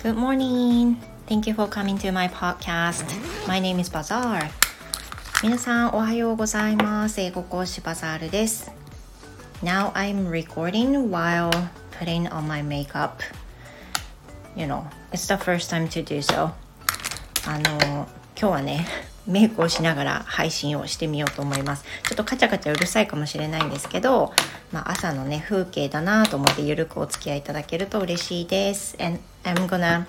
Good morning. Thank you for coming to my podcast. My name is Bazaar. 皆さんおはようございます。英語講師バザールです。Now I'm recording while putting on my makeup. You know, it's the first time to do so. 今日はね、メイクをしながら配信をしてみようと思います。ちょっとカチャカチャうるさいかもしれないんですけど、朝のね風景だなと思ってゆるくお付き合いいただけると嬉しいです。And I'm gonna,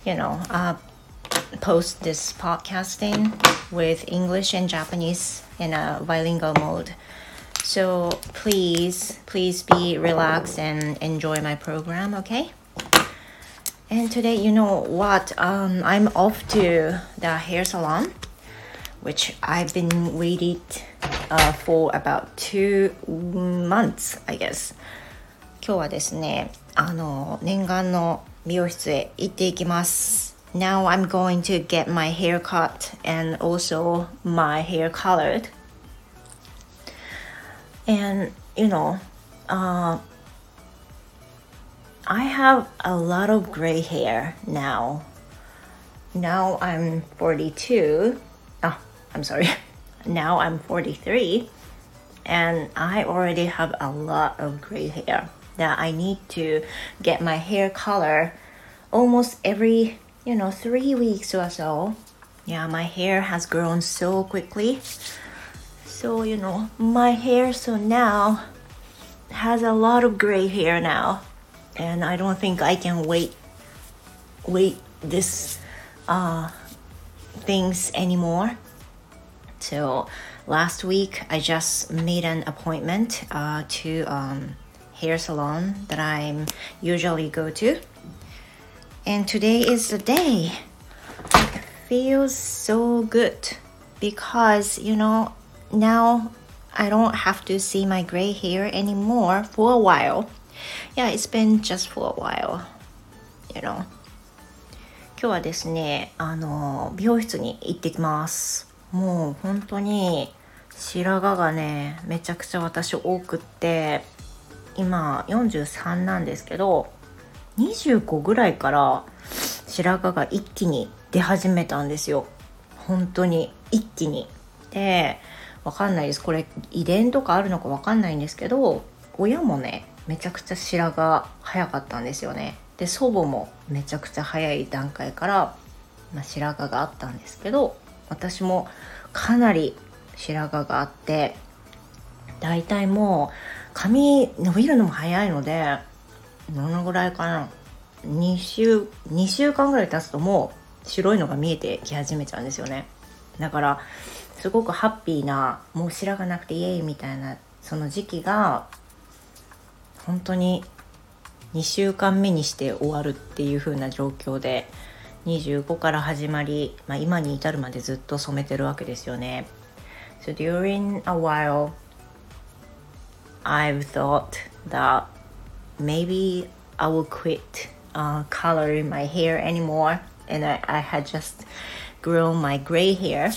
post this podcasting with English and Japanese in a bilingual mode. So please be relaxed and enjoy my program, okay? And today, you know what? I'm off to the hair salon.Which I've been waiting for about 2 months, I guess. 今日はですね、念願の美容室へ行っていきます。Now I'm going to get my hair cut and also my hair colored. And, I have a lot of gray hair now. Now I'm 42.I'm sorry. Now I'm 43 and I already have a lot of gray hair that I need to get my hair color almost every, 3 weeks or so. Yeah, my hair has grown so quickly. So, my hair so now has a lot of gray hair now. And I don't think I can wait this things anymore.So last week I just made an appointment to hair salon that I usually go to, and today is the day. It feels so good because now I don't have to see my gray hair anymore for a while. Yeah, it's been just for a while, 今日はですね美容室に行ってきます。もう本当に白髪がねめちゃくちゃ私多くって、今43なんですけど、25ぐらいから白髪が一気に出始めたんですよ。本当に一気に。で、わかんないです。これ遺伝とかあるのかわかんないんですけど、親もねめちゃくちゃ白髪早かったんですよね。で、祖母もめちゃくちゃ早い段階から、白髪があったんですけど、私もかなり白髪があって、だいたいもう髪伸びるのも早いので、どのぐらいかな、2週間ぐらい経つともう白いのが見えてき始めちゃうんですよね。だからすごくハッピーな、もう白髪なくてイエーイみたいなその時期が本当に2週間目にして終わるっていう風な状況で、25から始まり、今に至るまでずっと染めてるわけですよね。So during a while, I've thought that maybe I will quit coloring my hair anymore, and I had just grown my gray hair.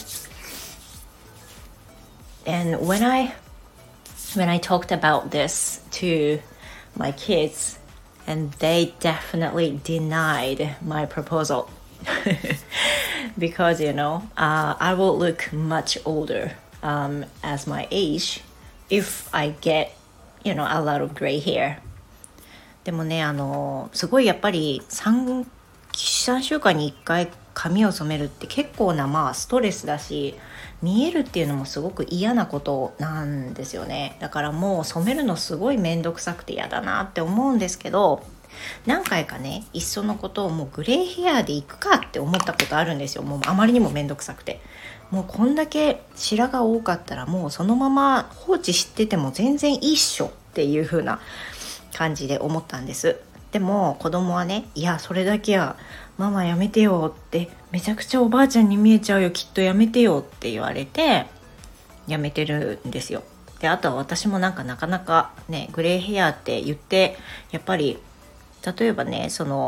And when I talked about this to my kids,And they definitely denied my proposal because, I will look much older as my age if I get, a lot of gray hair. でもね、すごいやっぱり3週間に1回髪を染めるって結構なストレスだし、見えるっていうのもすごく嫌なことなんですよね。だからもう染めるのすごいめんどくさくて嫌だなって思うんですけど、何回かねいっそのことをもうグレーヘアでいくかって思ったことあるんですよ。もうあまりにもめんどくさくて、もうこんだけ白髪多かったらもうそのまま放置してても全然いいっしょっていう風な感じで思ったんです。でも子供はね、いやそれだけはママやめてよって、めちゃくちゃおばあちゃんに見えちゃうよ、きっとやめてよって言われてやめてるんですよ。で、あとは私もなかなかねグレーヘアって言ってやっぱり例えばね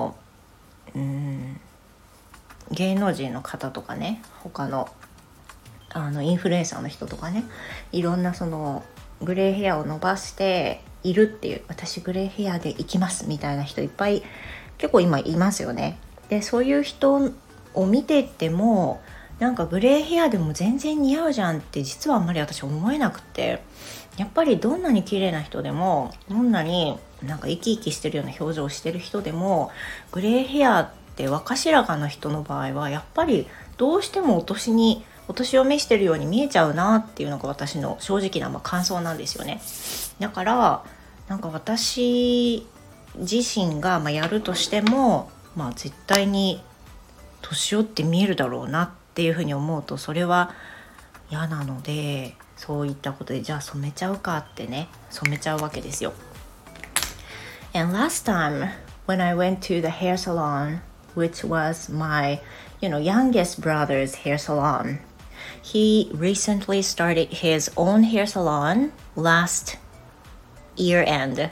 芸能人の方とかね、他のインフルエンサーの人とかね、いろんなそのグレーヘアを伸ばしているっていう、私グレーヘアで行きますみたいな人いっぱい結構今いますよね。 でそういう人を見てってもなんかグレーヘアでも全然似合うじゃんって実はあんまり私思えなくて、やっぱりどんなに綺麗な人でもどんなになんか生き生きしてるような表情をしてる人でもグレーヘアって若白髪の人の場合はやっぱりどうしてもお年を召してるように見えちゃうなっていうのが私の正直な感想なんですよね。だからなんか私自身がやるとしても、絶対に年寄って見えるだろうなっていうふうに思うとそれは嫌なので、そういったことでじゃあ染めちゃうかってね、染めちゃうわけですよ。And last time when I went to the hair salon, which was my youngest brother's hair salon, he recently started his own hair salon last year end,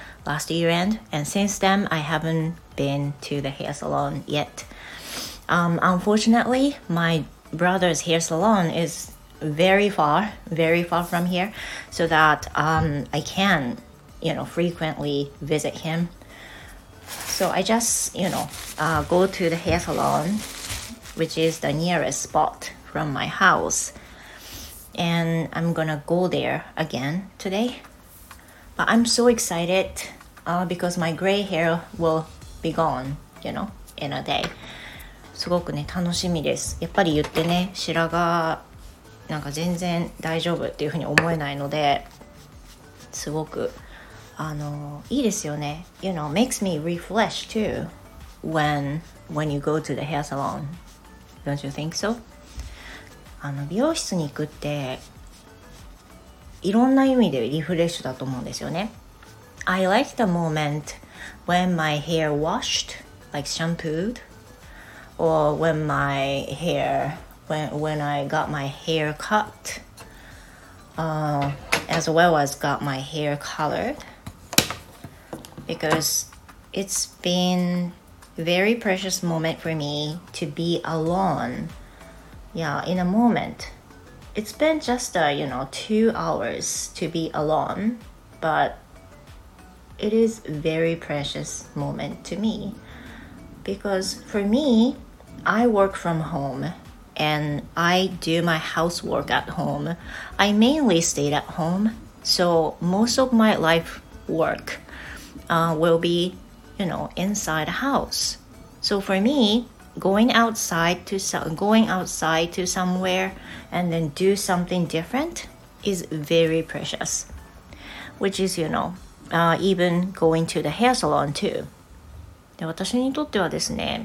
and since then I haven't been to the hair salon yet. Unfortunately, my brother's hair salon is very far from here, so that I can frequently visit him. So I just go to the hair salon, which is the nearest spot from my house, and I'm gonna go there again today. But I'm so excited because my gray hair will be gone, in a day. すごくね楽しみです。やっぱり言ってね、白髪なんか全然大丈夫っていうふうに思えないので、すごくいいですよね。makes me refresh too when you go to the hair salon. Don't you think so? 美容室に行くっていろんな意味でリフレッシュだと思うんですよね。I like the moment when my hair washed, like shampooed, or when I got my hair cut, as well as got my hair colored, because it's been a very precious moment for me to be alone. Yeah, in a moment. It's been just 2 hours to be alone, but it is a very precious moment to me, because for me, I work from home and I do my housework at home. I mainly stayed at home, so most of my life work will be inside a house. So for me, going outside to somewhere and then do something different is very precious, which is even going to the hair salon too. で、私にとってはですね、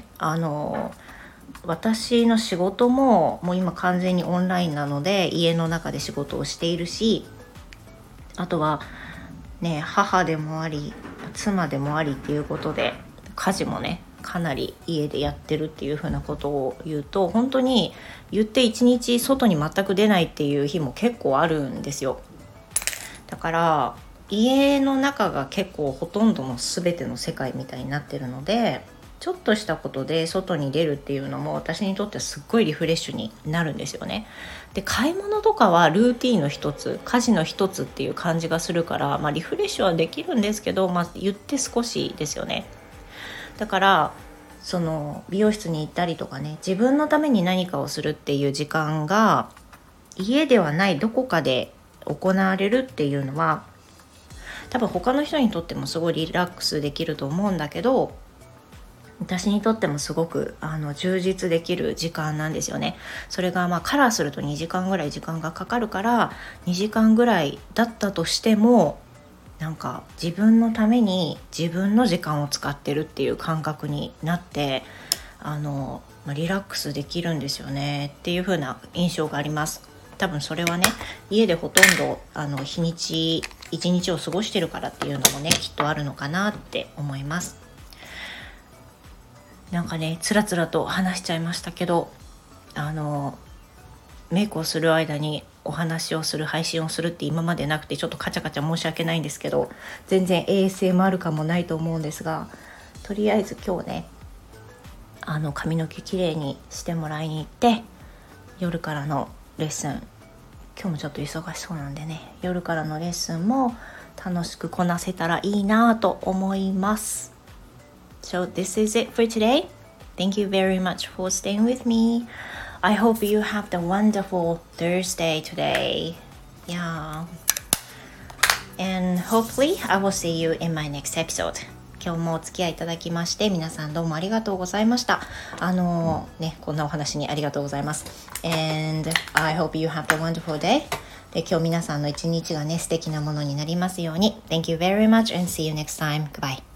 私の仕事ももう今完全にオンラインなので家の中で仕事をしているし、あとはね、母でもあり妻でもありっていうことで家事もねかなり家でやってるっていう風なことを言うと、本当に言って一日外に全く出ないっていう日も結構あるんですよ。だから家の中が結構ほとんどの全ての世界みたいになってるので、ちょっとしたことで外に出るっていうのも私にとってはすっごいリフレッシュになるんですよね。で、買い物とかはルーティンの一つ、家事の一つっていう感じがするから、リフレッシュはできるんですけど、言って少しですよね。だからその美容室に行ったりとかね、自分のために何かをするっていう時間が家ではないどこかで行われるっていうのは多分他の人にとってもすごいリラックスできると思うんだけど、私にとってもすごく充実できる時間なんですよね。それがカラーすると2時間ぐらい時間がかかるから、2時間ぐらいだったとしてもなんか自分のために自分の時間を使ってるっていう感覚になってリラックスできるんですよねっていう風な印象があります。多分それはね、家でほとんど一日を過ごしてるからっていうのもねきっとあるのかなって思います。なんかねつらつらと話しちゃいましたけど、メイクをする間にお話をする配信をするって今までなくて、ちょっとカチャカチャ申し訳ないんですけど、全然 ASMR 感もないと思うんですが、とりあえず今日ね髪の毛きれいにしてもらいに行って、夜からのレッスン、今日もちょっと忙しそうなんでね、夜からのレッスンも楽しくこなせたらいいなと思います。So this is it for today. Thank you very much for staying with me. I hope you have the wonderful Thursday today. Yeah. And hopefully I will see you in my next episode. 今日もお付き合いいただきまして皆さんどうもありがとうございました。こんなお話にありがとうございます。And I hope you have a wonderful day. で今日皆さんの一日がね素敵なものになりますように。Thank you very much and see you next time. Goodbye.